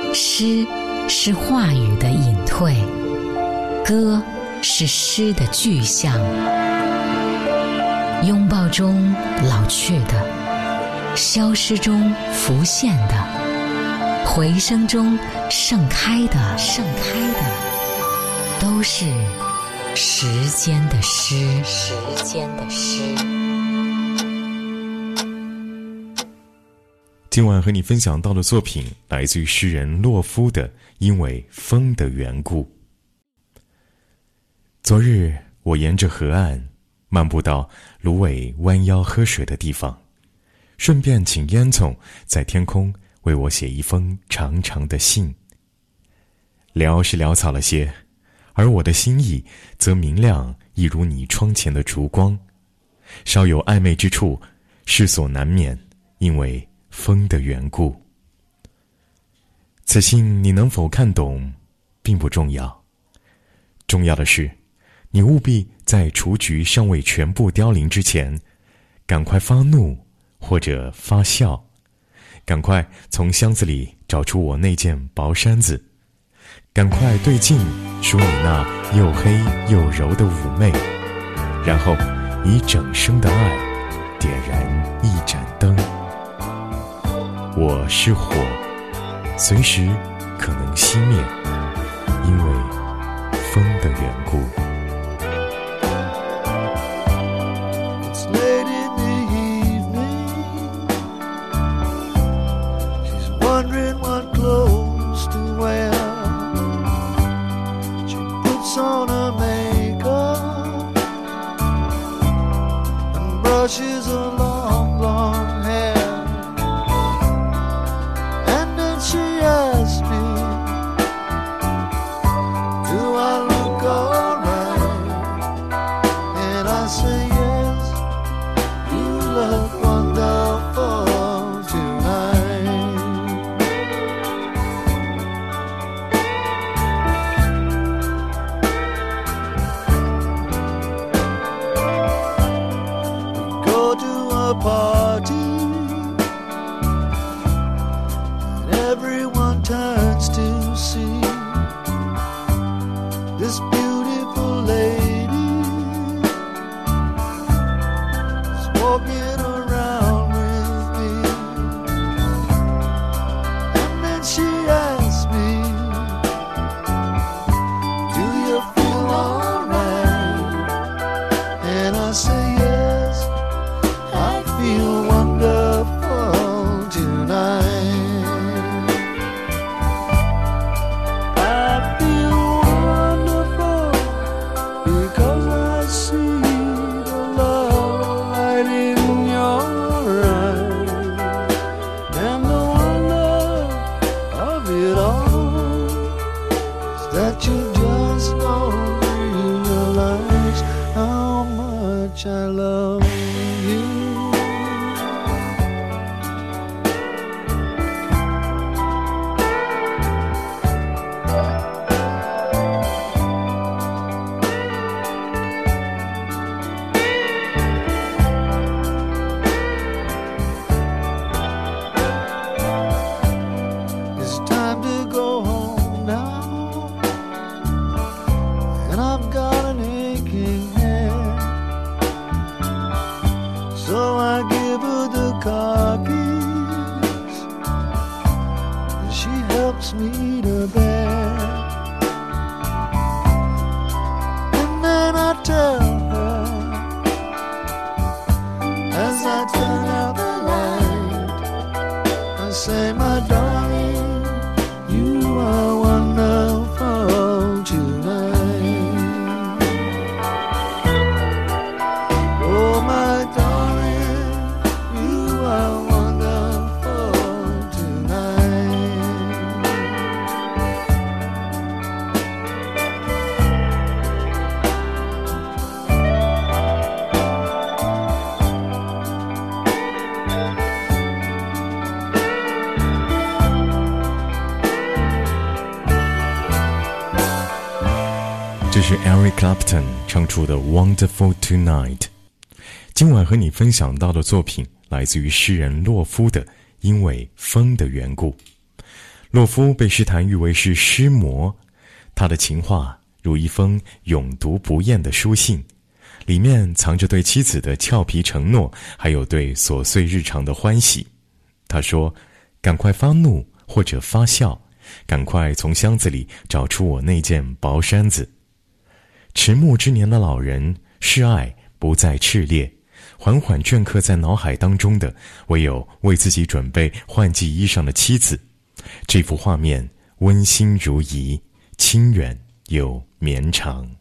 诗是话语的隐退，歌是诗的具象。拥抱中老去的，消失中浮现的，回声中盛开的，都是时间的诗。 今晚和你分享到的作品来自于诗人洛夫的《因为风的缘故》。昨日我沿着河岸漫步到芦苇弯腰喝水的地方，顺便请烟囱在天空为我写一封长长的信。潦是潦草了些，而我的心意则明亮，一如你窗前的烛光。稍有暧昧之处，世所难免，因为风的缘故。此信你能否看懂并不重要，重要的是你务必在雏菊尚未全部凋零之前，赶快发怒或者发笑，赶快从箱子里找出我那件薄衫子，赶快对镜梳你那又黑又柔的妩媚，然后以整生的爱点燃一盏灯。我是火，随时可能熄灭，因为风的缘故。 It's late in the evening. She's wondering what clothes to wear. She puts on her makeup and brushes her long, long hair. She asked me, do I look alright? And I say yes, you look wonderful tonight. We go to a party, everyone turns to see this beautiful lady is walking around with me. And then she asks me, do you feel alright? And I say yes, I feel wonderful tonight. That you just don't realize how much I love you. It's time to go home now. I've got an aching head, so I give her the car keys, and she helps me to bed. And then I tell her, as I turn out the light, I say, my darling, you are wonderful tonight. Oh, my darling, you are wonderful tonight. This 这是 Eric Clapton 唱出的 Wonderful Tonight。 今晚和你分享到的作品来自于诗人洛夫的《因为风的缘故》。 洛夫被诗坛誉为是诗魔，他的情话如一封永读不厌的书信，里面藏着对妻子的俏皮承诺，还有对琐碎日常的欢喜。他说，赶快发怒或者发笑，赶快从箱子里找出我那件薄衫子。迟暮之年的老人，示爱不再炽烈，缓缓镌刻在脑海当中的唯有为自己准备换季衣裳的妻子。这幅画面温馨如仪，清远又绵长。